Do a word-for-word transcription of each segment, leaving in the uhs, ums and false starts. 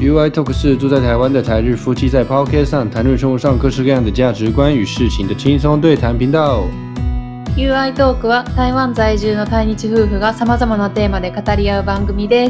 U I Talk 是住在台湾的台日夫妻在 Podcast 上谈论生活上各式各样的价值观与事情的轻松对谈频道。 ユーアイ トークは台湾在住の対日夫婦がさまざまなテーマで語り合う番組です。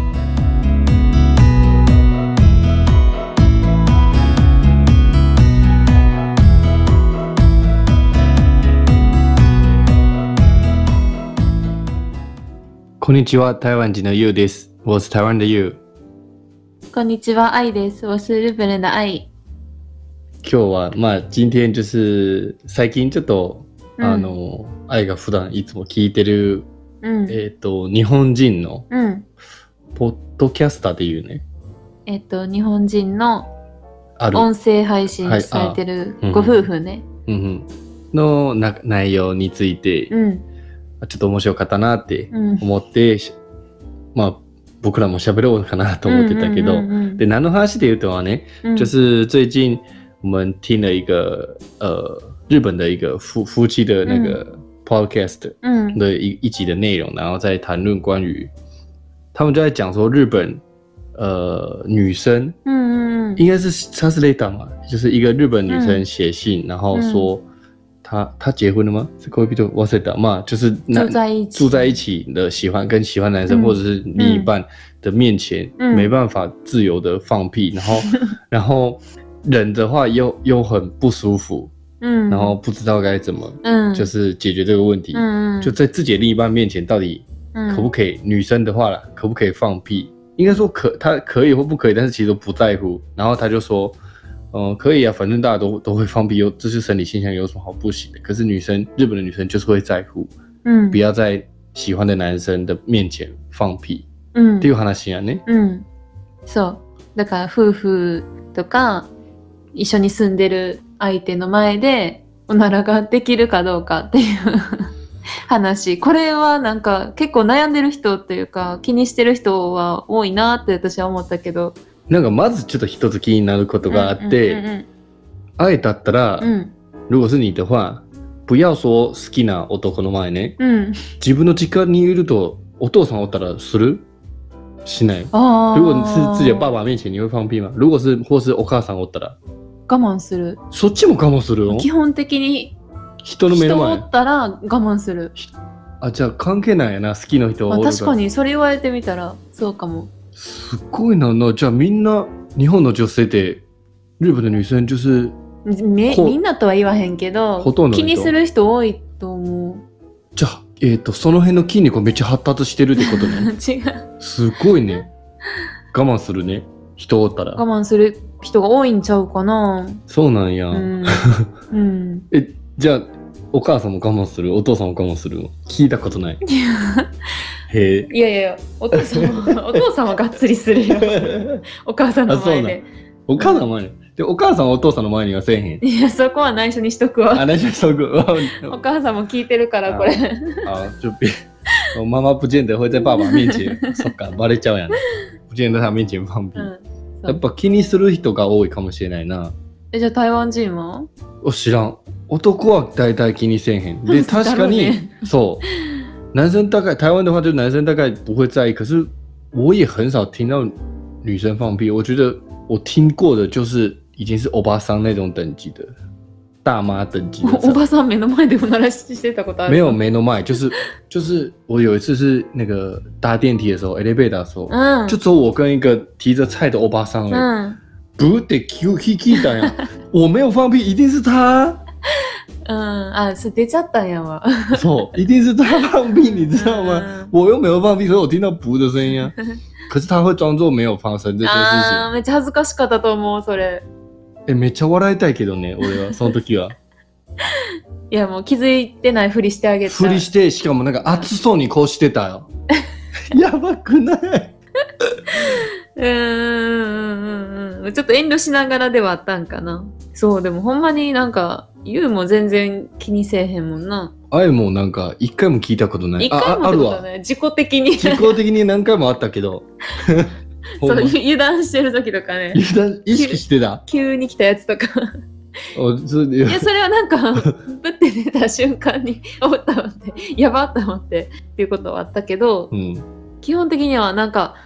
こんにちは，台湾人的 You です。我是台湾的 You。 こんにちは、愛です。我是日本人的愛。 今日はまあ今天就是最近ちょっと、うん、あの愛が普段いつも聞いてる、うん、えっ、ー、と日本人の、うん、ポッドキャスターっていうね。 えっ、ー、と日本人の音声配信されてるご夫婦ね。 うんうん、のな内容について。うんちょっと面白かったなって思って、うん、まあ僕らも喋ろうかなと思ってたけど、嗯嗯嗯嗯、で何の話で言うとはね、嗯、就是最近我们听了一个呃日本的一个夫夫妻的那个 podcast 的一、嗯、一集的内容，然后在谈论关于他们就在讲说日本呃女生，嗯嗯应该是他是类党嘛，就是一个日本女生写信，嗯、然后说。嗯他他结婚了吗？是恋人忘れた嘛，就是住在一起住在一起的喜欢跟喜欢男生、嗯、或者是另一半的面前、嗯、没办法自由的放屁，然后然后忍的话又又很不舒服，嗯，然后不知道该怎么，嗯，就是解决这个问题，嗯，就在自己的另一半面前到底可不可以？嗯、女生的话啦，可不可以放屁？应该说可，他可以或不可以，但是其实都不在乎。然后他就说。嗯，可以啊，反正大家都都会放屁，有这是生理现象，有什么好不行的？可是女生，日本的女生就是会在乎，嗯，不要在喜欢的男生的面前放屁，嗯，っていう話やね。 うん、そう。だから夫婦とか一緒に住んでる相手の前でおならができるかどうかっていう話。これはなんか結構悩んでる人っていうか気にしてる人は多いなって私は思ったけど。 なんかまずちょっと一つ気になることがあって、うんうんうんうん、愛だったら、うん、如果是你的话不要说好きな男の前ね、うん、自分の実家にいるとお父さんおったらするしない如果是自己的爸爸面前你会放屁吗如果是或是お母さんおったら我慢するそっちも我慢するの基本的に人の目の前人おったら我慢するあじゃあ関係ないやな好きな人おるから、 まあ、確かにそれ言われてみたらそうかもすごいななじゃあみんな日本の女性って日本の女性就是みみんなとは言わへんけどほとんど気にする人多いと思うじゃあ、えーと、その辺の筋肉めっちゃ発達してるってことね違うすごいね我慢するね人おったら我慢する人が多いんちゃうかなそうなんや、うんうん、 えじゃあお母さんも我慢するお父さんも我慢する聞いたことないへいやいやいやお父さんはお父さんはがっつりするよお母さんの前でお母さんの前に、うん、でお母さんはお父さんの前にはせえへんいやそこは内緒にしとくわあ内緒にしとくお母さんも聞いてるからこれあ就妈妈不见得会在爸爸面前そっかバレちゃうやん不见得在他面前放屁、うん、やっぱ気にする人が多いかもしれないなえじゃあ台湾人はお知らん男は大体気にせえへんで確かに、ね、そう男生大概台湾的话就男生大概不会在意可是我也很少听到女生放屁我觉得我听过的就是已经是欧巴桑那种等级的大妈等级的欧巴桑目の前でおならしてたことある没有目の前就是就是我有一次是那个搭电梯的时候 elevator 的时候、嗯、就只有我跟一个提着菜的欧巴桑而已、嗯、不得 Q Q Q 的呀我没有放屁一定是他嗯啊是出ちゃったんやわそう一定是他放屁你知道吗、嗯、我又没有放屁所以我听到噗的声音啊可是他会装作没有发生这件事情あめっちゃ恥ずかしかったと思うそれえめっちゃ笑いたいけどね俺はその時はいやもう気づいてないふりしてあげたふりしてしかもなんか熱そうにこうしてたよやばくないうーんちょっと遠慮しながらではあったんかなそうでもほんまになんかユウも全然気にせえへんもんなあえもなんか一回も聞いたことない一回もってことない自己的に自己的に何回もあったけどそう油断してる時とかね油断意識してた急に来たやつとかおそれでいやそれはなんかぶって出た瞬間におったわってやばって思ってっていうことはあったけど、うん、基本的にはなんか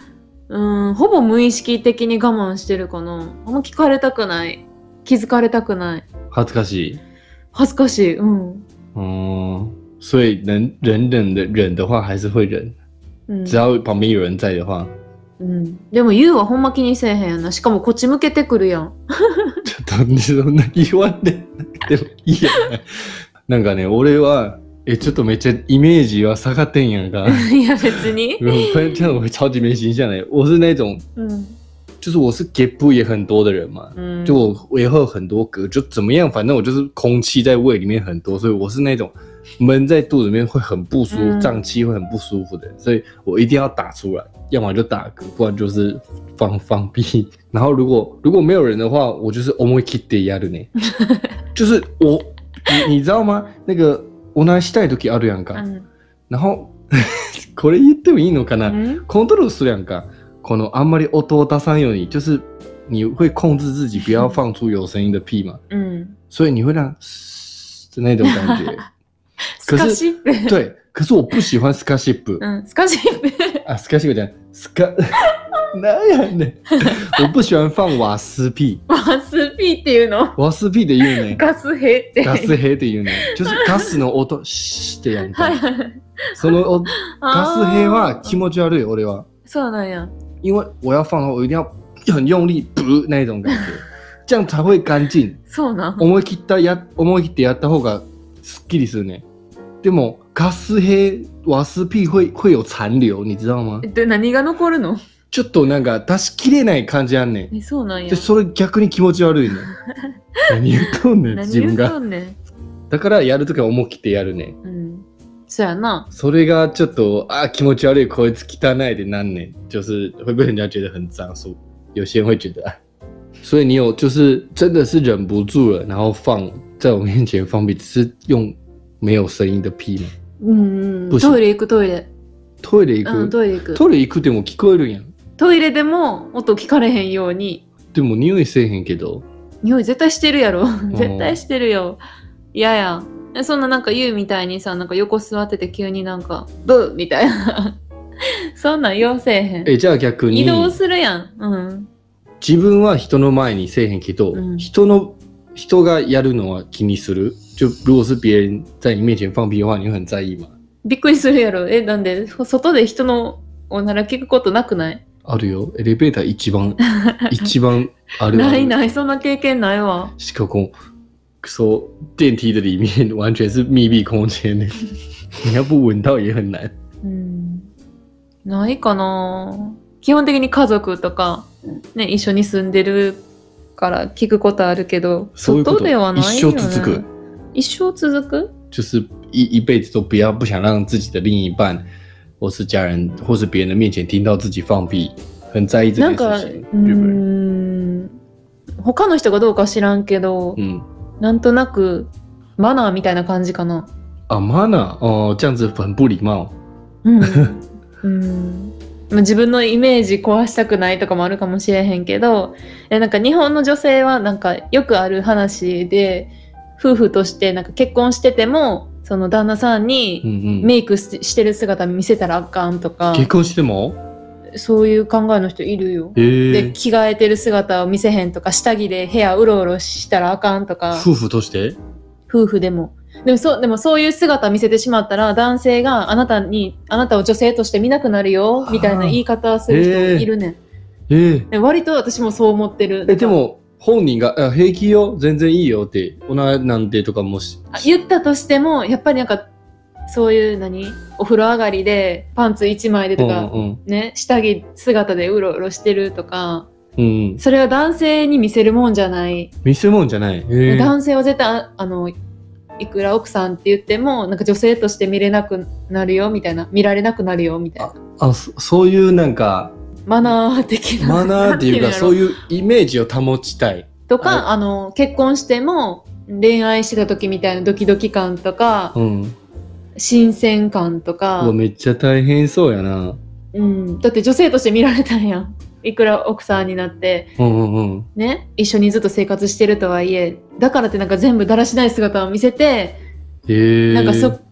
うん、ほぼ無意識的に我慢してるかな。あんま聞かれたくない。気づかれたくない。 恥ずかしい。 恥ずかしい。うん。 嗯，所以能忍忍的忍的话还是会忍， うん、 只要旁边有人在的话。 うん。でもユウはほんま気にせえへんやな。しかもこっち向けてくるやん。 ちょっとそんな言わんででもいいやん。なんかね、俺はえちょっとめっちゃイメージは下がってんやんか。 いや別に。 这样我会超级没形象的。我是那种， 嗯， 就是我是 gap 也很多的人嘛， 嗯， 就我我也会有很多嗝，就怎么样，反正我就是空气在胃里面很多，所以我是那种闷在肚子里面会很不舒服， 嗯胀气会很不舒服的人，所以我一定要打出来，要么就打嗝，不然就是放放屁。然后如果如果没有人的话，我就是思い切ってやるね。就是我，你你知道吗？那个おならしたい時あるやんか。 嗯然后これ言ってもいいのかな？ 嗯コントロールするやんか。このあんまり音を出さんように，就是你会控制自己不要放出有声音的屁嘛。 嗯， 所以你会让的那种感觉。 スカシップ。 对，可是我不喜欢スカシップ。 嗯，スカシップ。 啊，スカシップじゃない。スカなんやねん。我不喜欢放瓦斯屁。 瓦斯屁っていうの？ 瓦斯屁で言うね。 ガスヘって。 ガスヘで言うね。就是ガスの音してやんか。そのおガスヘは気持ち悪い俺は。 そうなんや。 因为我要放的话，我一定要很用力，噗那种感觉，这样才会干净。 そうなん。 思い切ったや思い切ってやった方がすっきりするね。でもガスヘ瓦斯屁会会有残留，你知道吗？ で何が残るの？ ちょっとなんか出しきれない感じあんねん。 え、そうなんや。 でそれ逆に気持ち悪いねん。何言っとんねん自分何言っとが。 んねん。 だからやるときは思い切ってやるね。 うん。そうやな。 それがちょっと啊気持ち悪いこいつ汚いでなんねん，就是会被人家觉得很脏，所以有些人会觉得啊。所以你有就是真的是忍不住了，然后放在我面前放屁，只是用没有声音的屁吗？ うんうん。 不行トイレ行くトイレ。 トイレ行く、 うん、トイレ行く。 トイレ行くでも聞こえるんやん。 トイレでも音聞かれへんように。 でも匂いせえへんけど。 匂い絶対してるやろ。絶対してるよ。いやや。そんななんか言うみたいにさ、なんか横座ってて急になんかブーみたいな。そんなん言わせえへん。 え、じゃあ逆に移動するやん。うん。 自分は人の前にせえへんけど、 うん、 人の人がやるのは気にする。就如果是别人在你面前放屁的话，你会很在意吗？ びっくりするやろ。え、なんで外で人のおなら聞くことなくない？ あるよ。エレベーター一番一番あるある。 ないない、そんな経験ないわ。 しかも说电梯的里面完全是密闭空间呢，你要不闻到也很難。 うん、ないかな。基本的に家族とかね一緒に住んでるから聞くことあるけど、外ではないよね。一生続く。一生続く？ 就是一一辈子都不要不想让自己的另一半或是家人或是别人的面前听到自己放屁，很在意这件事情。 なんかうーん、他の人がどうか知らんけど。 嗯。 なんとなくマナーみたいな感じかな。 あ、マナー、哦，这样子很不礼貌。 うん。うん。自分のイメージ壊したくないとかもあるかもしれへんけど、えなんか日本の女性はなんかよくある話で、夫婦としてなんか結婚しててもその旦那さんにメイクしてる姿見せたらあかんとか。 結婚しても？ そういう考えの人いるよ。 えー、 で着替えてる姿を見せへんとか、下着で部屋うろうろしたらあかんとか。 夫婦として？ 夫婦でも。でもそうでもそういう姿を見せてしまったら男性があなたにあなたを女性として見なくなるよみたいな言い方をする人いるねん。 えーえー、 割と私もそう思ってる。 えでも本人があ平気よ全然いいよっておななんてとかもし言ったとしてもやっぱりなんかそういう何お風呂上がりでパンツ一枚でとか、うんうん、ね下着姿でうろうろしてるとか、うん、それは男性に見せるもんじゃない。 見せるもんじゃない。 男性は絶対あのいくら奥さんって言ってもなんか女性として見れなくなるよみたいな、見られなくなるよみたいな。 ああ そ, そういうなんかマナー的なマナーっていうかそういうイメージを保ちたいとか、あの結婚しても恋愛してた時みたいなドキドキ感とか、うん、新鮮感とか。 めっちゃ大変そうやな、 うん、だって女性として見られたんやん、いくら奥さんになって、うんうんうん、ね、一緒にずっと生活してるとはいえ、だからってなんか全部だらしない姿を見せて、へー、なんかそ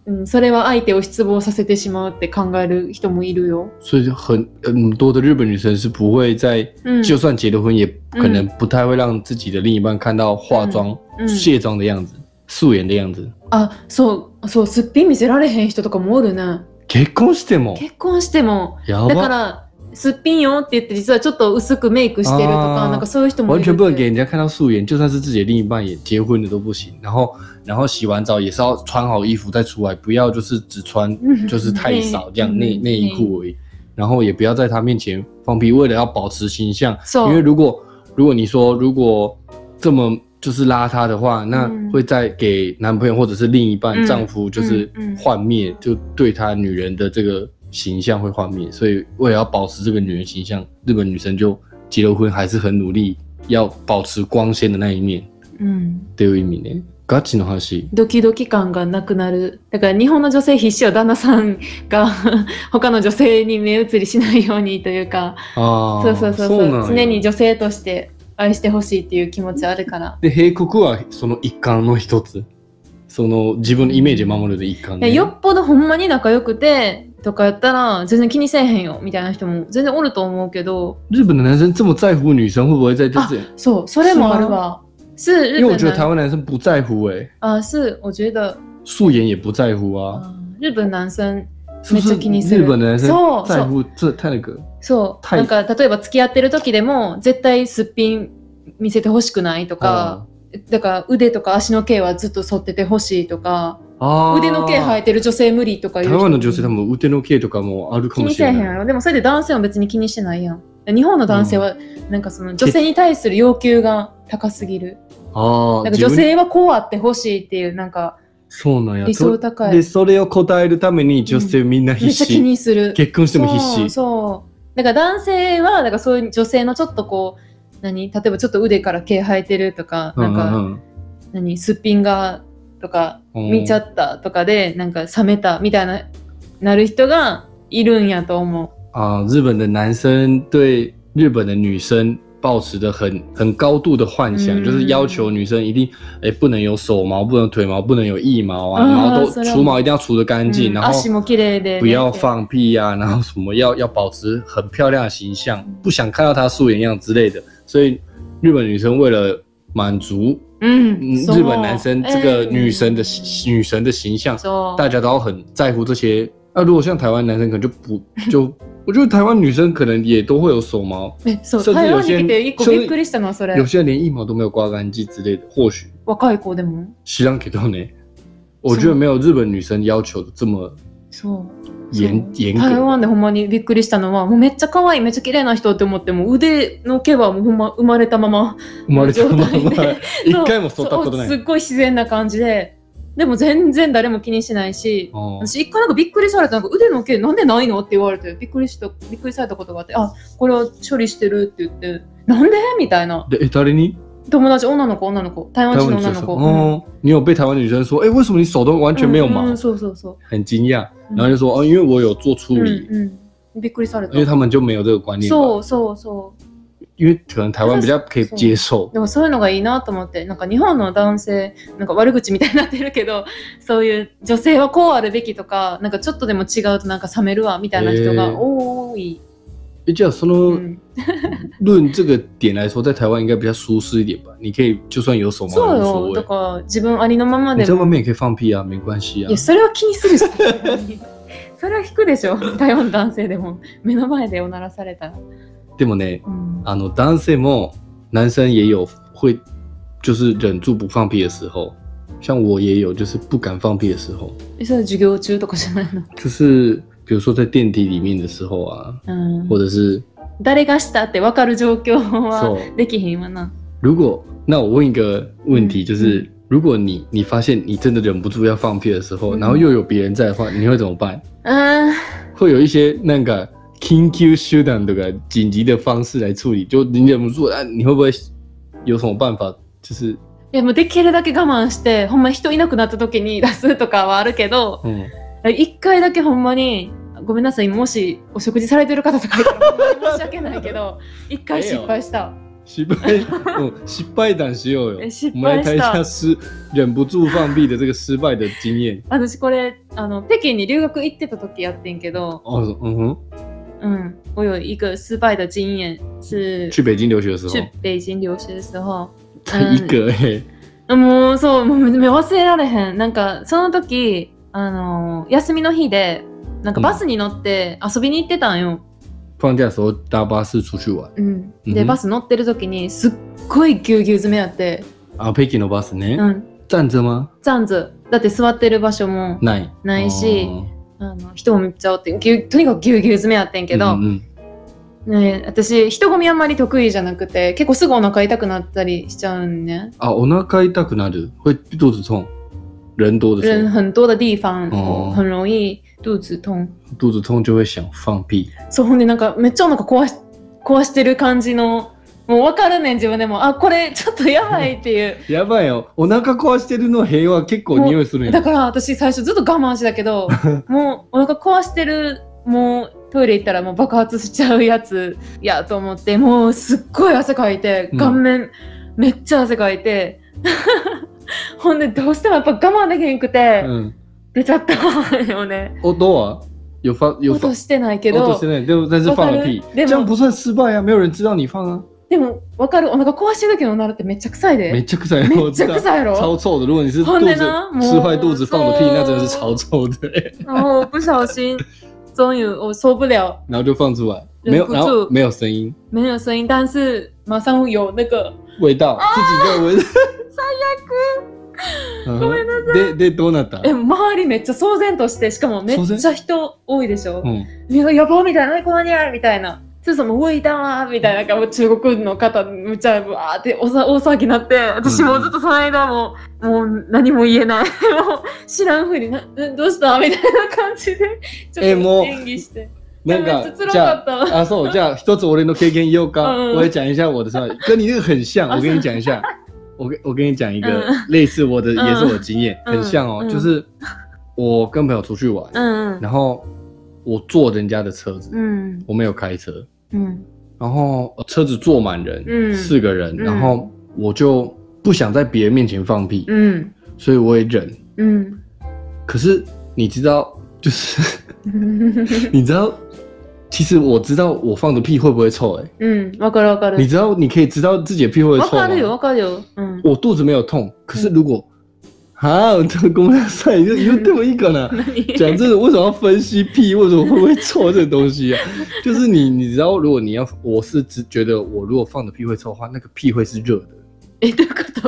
うん、それは相手を失望させてしまうって考える人もいるよ。 所以很很多的日本女生是不会在、嗯、就算结了婚，也可能不太会让自己的另一半看到化妆、嗯、卸妆的样子、素颜的样子。 あ、そうそう、すっぴん見せられへん人とかもおるね。 結婚しても。 結婚しても。 やば。 だからすっぴんよって言って実はちょっと薄くメイクしてるとか、なんかそういう人もいる。 完全不能给人家看到素颜，就算是自己的另一半也结婚了都不行。然后，然后洗完澡也是要穿好衣服再出来，不要就是只穿就是太少这样内内衣裤而已。然后也不要在他面前放屁，为了要保持形象。因为如果如果你说如果这么就是邋遢的话，那会再给男朋友或者是另一半、嗯、丈夫就是幻灭，就对他女人的这个形象会幻灭。所以为了要保持这个女人形象，日本女生就结了婚还是很努力要保持光鲜的那一面。嗯，っていう意味ね。ガチの話。 ドキドキ感がなくなる。だから日本の女性必死よ、旦那さんが他の女性に目移りしないようにというか。ああ、そうそうそうそう。常に女性として愛してほしいっていう気持ちあるから。 で、閉国はその一環の一つ。その自分のイメージを守るで一環、ね。 よっぽどほんまに仲良くてとかやったら全然気にせえへんよみたいな人も全然おると思うけど。 日本的男生这么在乎女生，会不会在这？ そう、それもあるわ。是日本， 因为我觉得台湾男生不在乎哎、欸。 啊，是，我觉得素颜也不在乎啊。 啊日本男生めっちゃ気にする。 日本男生在乎这太那个。 そう。なんか例えば付き合ってる時でも絶対すっぴん見せてほしくないとか、だから腕とか足の毛はずっと剃っててほしいとか。腕の毛生えてる女性無理とか言う。 台湾の女性多分腕の毛とかもあるかもしれない。 気にせえへんやろ。でもそれで男性は別に気にしてないやん。日本の男性はなんかその女性に対する要求が高すぎる。あなんか女性はこうあってほしいっていうなんかそうなんや理想高い。 でそれを答えるために女性みんな必死、 うん、めっちゃ気にする。 結婚しても必死。 そうそうだから男性はだからそういう女性のちょっとこう何例えばちょっと腕から毛生えてるとか、なんか、うんうん、何すっぴんがとか見ちゃったとかでなんか冷めたみたいななる人がいるんやと思う。 啊，日本的男生对日本的女生抱持的很很高度的幻想，嗯、就是要求女生一定哎不能有手毛，不能腿毛，不能有腋毛啊，然后都除毛一定要除得干净，嗯、然后不要放屁啊，然后什么要要保持很漂亮的形象，不想看到她素颜样之类的。所以日本女生为了满足嗯日本男生这个女神的、欸、女神的形象，大家都很在乎这些。那、啊、如果像台湾男生可能就不就。我觉得台湾女生可能也都会有手毛， 甚至有些人有些人连腋毛都没有刮干净之类的，或许。 若い子でも。 知らんけどね。我觉得没有日本女生要求的这么严严格。 台湾でほんまにびっくりしたのは、もうめっちゃ可愛いめっちゃ綺麗な人って思っても腕の毛はもうほんま生まれたまま生まれたまま一回も剃ったことない。 すっごい自然な感じで。でも全然誰も気にしないし、私一回なんかびっくりされた、なんか腕の毛なんでないのって言われてびっくりしたびっくりされたことがあって、あ、これは処理してるって言って、なんでみたいな。 で、え、誰に？ 友達、女の子、女の子、台湾人の女の子。 哦、嗯，你有被台湾女生说，哎，为什么你手都完全没有毛？ 嗯，そうそうそう。 很惊讶，然后就说，哦，因为我有做处理。 嗯嗯，びっくりされた。 因为他们就没有这个观念。 そうそうそう。 因为可能台湾比较可以接受。 でもそういうのがいいなと思って、なんか日本の男性なんか悪口みたいになってるけど、そういう女性はこうあるべきとか、なんかちょっとでも違うとなんか冷めるわみたいな人が多い。 え、じゃあその論这个点来说，在台湾应该比较舒适一点吧？你可以就算有手毛そうよ。だから自分ありのままでも。 你在外面也可以放屁啊，没关系啊。 いやそれは気にするし。それは引くでしょ。台湾の男性でも目の前でおならされたら。 でもね、嗯、あの男性も男生也有会就是忍住不放屁的时候，像我也有就是不敢放屁的时候。 え、それ授業中とかじゃないの？ 就是比如说在电梯里面的时候啊，嗯、或者是誰がしたって分かる状況はできへんわな。 如果那我问一个问题，就是、嗯、如果你你发现你真的忍不住要放屁的时候，嗯、然后又有别人在的话，你会怎么办？嗯，会有一些那个。緊急手段とか緊急的方式来处理，就你忍不住啊，你会不会有什么办法？就是いやもうできるだけ我慢して、ほんま人いなくなった時に出すとかはあるけど、一、うん、回だけほんまにごめんなさい、もしお食事されてる方とかいたらほんまに申し訳ないけど、一回失敗した。 失败，哦，失敗談しようよ。 失敗した。 我们来谈一下失忍不住放屁的这个失败的经验。 私これあの北京に留学行ってた時やってんけど。 哦，嗯哼。 嗯，我有一个失败的经验是去北京留学的时候。 去北京留学的时候。 才一个哎、 欸。もうそうもう忘れられへん。なんかその時あの休みの日でなんかバスに乗って遊びに行ってたんよ。 放假的时候搭巴士出去玩。 うん。で、バス乗ってる時にすっごいぎゅうぎゅう詰めやって。 あ、北京のバスね。 うん。 站着吗？ 站着。だって座ってる場所もないないし、あの人もめっちゃおってぎゅとにかくぎゅうぎゅう詰めやってんけど、うんうん、ね、私人混みあんまり得意じゃなくて結構すぐお腹痛くなったりしちゃうんね。 あ、お腹痛くなる？会肚子痛？人多的时候？ 人很多的地方、哦、很容易肚子痛。 肚子痛就会想放屁。 そう、ほんでなんかめっちゃお腹壊し壊してる感じの。もう分かるねん自分でも。あ、これちょっとやばいっていうやばいよ。お腹壊してるの平和結構匂いするんや。 だから私最初ずっと我慢してたけどもうお腹壊してる、もうトイレ行ったらもう爆発しちゃうやつやと思って、もうすっごい汗かいて顔面、うん、めっちゃ汗かいてほんでどうしてもやっぱ我慢できへんくて、うん、出ちゃったよね。 音は有发有音してないけど。 音してない。でも但是放了屁。这样不算失败啊，没有人知道你放啊。 でも分かる、お腹壊してる時のおならってめっちゃ臭いで。 めっちゃ臭い。 めっちゃ臭いやろ。 超臭的。如果你是肚子吃坏肚子放的屁，那真的是超臭的。 然后不小心，终于我受不了， 然后就放出来，没有，然后没有声音， 没有声音，但是马上有那个味道，自己的味道。 最悪。ごめんなさい。 ででどうなった？ え、周りめっちゃ騒然として、しかもめっちゃ人多いでしょ。 うん。 やばみたいな、このにゃみたいな。ちょっともう味だみたいな、中国の方むちゃわーって大騒ぎになって、私もずっとその間もう、もう何も言えない、もう知らんふうにな、どうしたみたいな感じでちょっと演技して。 なんかじゃあ、あ、そうじゃあ一つ俺の経験言おうか。我也讲一下我的，跟你那个很像。我跟你讲一下，我跟我跟你讲一个类似我的，也是我的经验，很像哦。就是我跟朋友出去玩，然后我坐人家的车子，我没有开车。嗯，然后车子坐满人，嗯，四个人，嗯，然后我就不想在别人面前放屁，嗯，所以我也忍，嗯，可是你知道，就是你知道，其实我知道我放的屁会不会臭，哎，嗯，わかるわかる，你知道你可以知道自己的屁会不会臭吗？わかるよわかるよ，嗯，我肚子没有痛，可是如果啊，这个公开赛就又对我一个呢。讲真的，为什么要分析屁？为什么会不会臭这个东西啊？就是你，你知道，如果你要，我是只觉得我如果放的屁会臭的话，那个屁会是热的。 え、どういうこと？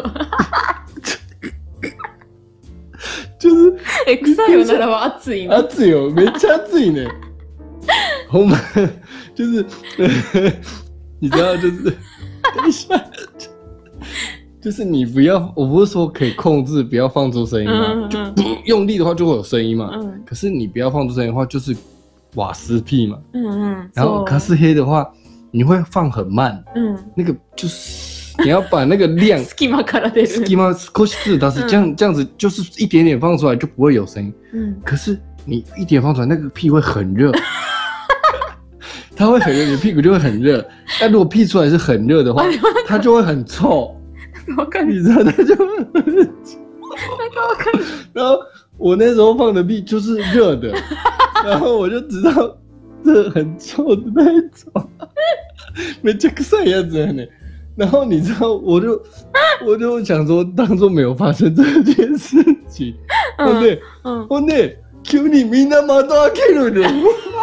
就是え、臭いおならは熱いの？ 熱いよ、めっちゃ熱いね。ほんま就是你知道，就是等一下。就是你不要，我不是说可以控制不要放出声音吗？嗯嗯、就不用力的话就会有声音嘛。嗯、可是你不要放出声音的话，就是瓦斯屁嘛。嗯嗯。然后卡斯黑的话，你会放很慢。嗯。那个就是你要把那个量。 隙間から出る。 隙間少しずつ出す，这样这样子就是一点点放出来就不会有声音。嗯。可是你一点放出来，那个屁会很热。它会很热，你屁股就会很热。但如果屁出来是很热的话，它就会很臭。你知道，它就会很臭。然后我那时候放的屁就是热的，然后我就知道这很臭的那一种，めっちゃ臭いやつやね。然后你知道，我就我就想说，当作没有发生这件事情。ほんで、ほんで急にみんな窓開けるの。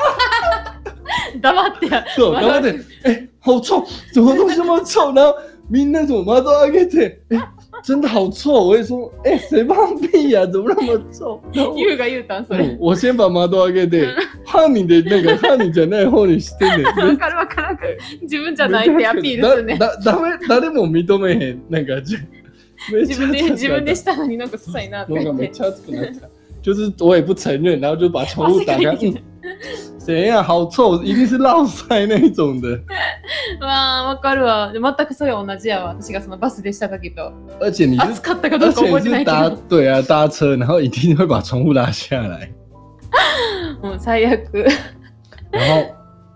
黙ってや。 そう、黙って。哎，好臭！怎么东西那么臭？然后みんな怎么窓開けて，哎，真的好臭！我也说，哎，谁放屁呀、啊？怎么那么臭？ 言うが言うたんそれ。 我先把窓開けて、歯にでなんか歯にじゃない方にしてね。 わかるわかる。自分じゃないってアピールするね。 だだダメ誰も認めへんなんか自分で自分でしたのになんか臭いなって言って。 なんかめっちゃ熱くなった。就是我也不承认，然后就把窗户打开。谁呀、啊？好臭，一定是落塞那一种的。 わあ、わかるわ。全くそれ同じやわ。私がそのバスでした時と。 而且你是暑かったかどうか覚えてないけど。 对啊，搭车，然后一定会把窗户拉下来。 もう最悪。 然后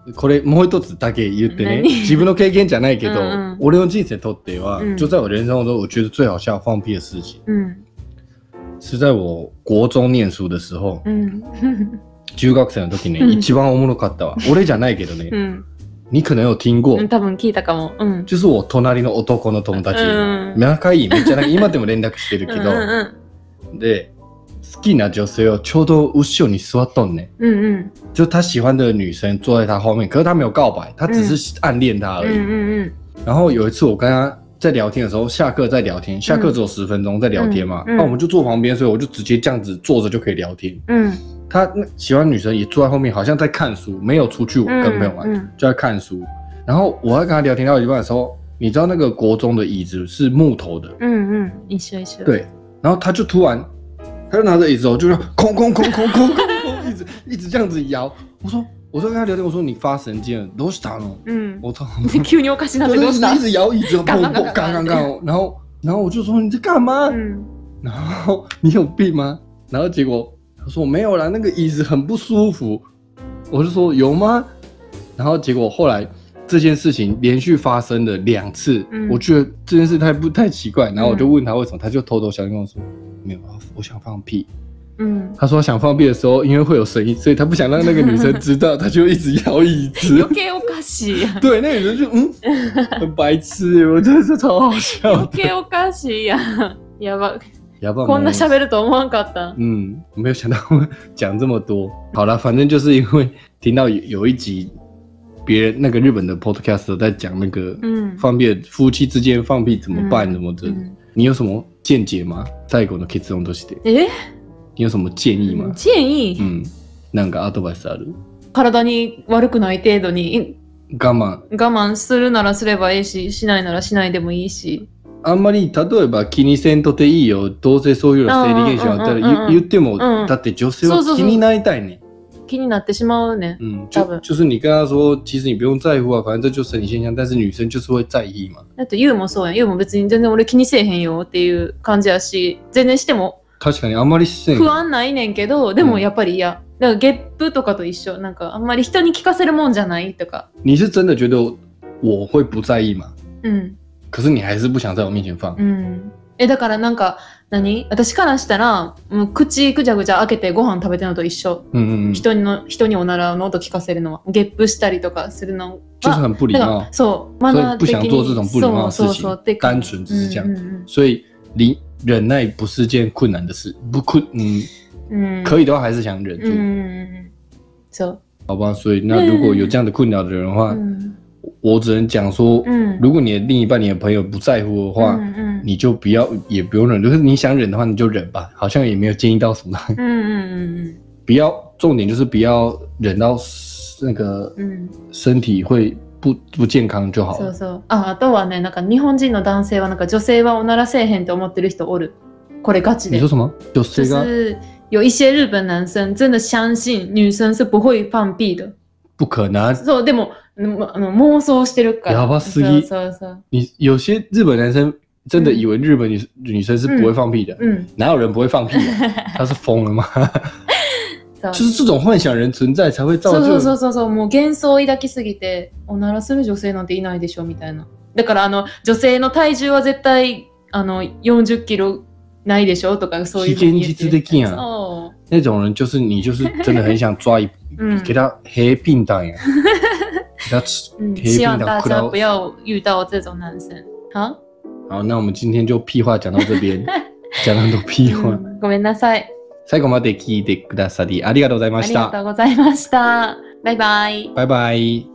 これもう一つだけ言ってね，自分の経験じゃないけど，嗯嗯俺の人生とっては、嗯、就在我人生中，我觉得最好笑放屁的事情，嗯，是在我国中念书的时候，嗯，中学生の時ね、一番おもろかったわ。俺じゃないけどね。うん你可能有听过， 多分聞いたかも。うん、 就是我隣の男の友達、うん、仲いいめっちゃなんか今でも連絡してるけど、うんうん、で好きな女性をちょうど後ろに座っとんね、嗯嗯，就他喜欢的女生坐在他后面，可是他没有告白，他只是暗恋他而已。嗯嗯嗯。然后有一次我跟他在聊天的时候，下课在聊天，下课只有十分钟在聊天嘛，那、嗯嗯、我们就坐旁边，所以我就直接这样子坐着就可以聊天。嗯。他喜欢女生也坐在后面，好像在看书，没有出去跟朋友玩，嗯嗯、就在看书。然后我在跟他聊天到一半的时候，你知道那个国中的椅子是木头的，嗯嗯，一緒一緒。对，然后他就突然，他就拿着椅子哦，就空空空空空空空，一直一直这样子摇。我说，我就跟他聊天，我说你发神经了，どうしたの？嗯，我操， 急におかしなってどうした？ 一直摇椅子，砰砰，刚刚刚，然后然后我就说你在干嘛？嗯，然后你有病吗？然后结果他说我没有啦，那个椅子很不舒服。我就说有吗？然后结果后来。这件事情连续发生了两次、嗯，我觉得这件事太不太奇怪，然后我就问他为什么，嗯、他就偷偷小心跟我说，没有，我想放屁。嗯，他说想放屁的时候，因为会有声音，所以他不想让那个女生知道，他就一直摇椅子。 余計おかしい。 对，那个女生就嗯，很白痴，我真的是超好笑。 余計おかしいや、やば。やばこんな喋ると思わんかった。 嗯，我没有想到讲这么多。好了，反正就是因为听到有有一集。别人那个日本的 podcast 在讲那个放屁、嗯、夫妻之间放屁怎么办、嗯、什么的、嗯、你有什么见解吗？最後の結論としてえ你有什么建议吗？ 建議うんなんかアドバイスある？ 体に悪くない程度に我慢我慢するならすればいいししないならしないでもいいしあんまり例えば気にせんとていいよどうせそういうの生理現象あったら、うんうんうん、言っても、うん、だって女性は気になりたいね気になってしまうね。 嗯，就就是你跟他说，其实你不用在乎啊，反正这就是生理现象，但是女生就是会在意嘛。 だってユウもそうやん。ユウも別に全然俺気にせえへんよっていう感じやし、全然しても確かにあんまりせん不安ないねんけど、でもやっぱり嫌。だからゲップとかと一緒。なんかあんまり人に聞かせるもんじゃないとか。 你是真的觉得我会不在意吗？嗯。可是你还是不想在我面前放。 嗯。えだからなんか何私からしたらもう口ぐちゃぐちゃ開けてご飯食べてるのと一緒、うんうんうん、人の人におならの音聞かせるのはゲップしたりとかするの就是很不礼貌そうマナー的に不想做这种不礼貌的事情そうそうそう单純只是这样、嗯嗯、所以忍耐不是件困难的事不困嗯、嗯可以的话还是想忍住嗯そう好吧所以那如果有这样的困扰的人的话、嗯我只能讲说、嗯，如果你的另一半、你的朋友不在乎的话，嗯嗯、你就不要，也不用忍。就是你想忍的话，你就忍吧。好像也没有建议到什么。嗯嗯嗯不要，重点就是不要忍到那个身体会不不健康就好了。 そうそう。あ、あとはね、なんか日本人の男性はなんか女性はおならせえへんと思ってる人おる。これガチで。 你说什么？女性が？ 就是有一些日本男生真的相信女生是不会放屁的。 不可能。 そうでも。あの妄想してるから。 やばすぎ。そうそうそう你有些日本男生真的以为日本 女,、嗯、女生是不会放屁的。嗯。哪有人不会放屁的？他是疯了吗？就是这种幻想人存在才会造就。 そうそうそうそう。もう幻想を抱きすぎて、おならする女性なんていないでしょみたいな。だからあの女性の体重は絶対あのよんじゅっキロないでしょとかそういう。 非現実的やん。那种人就是你就是真的很想抓一，嗯、给他黑便当呀。 嗯，希望大家不要遇到这种男生。好， 好，那我们今天就屁话讲到这边，讲了很多屁话。 嗯、ごめんなさい。 最後まで聞いてくださりありがとうございました。 ありがとうございました。バイバイ。 バイバイ。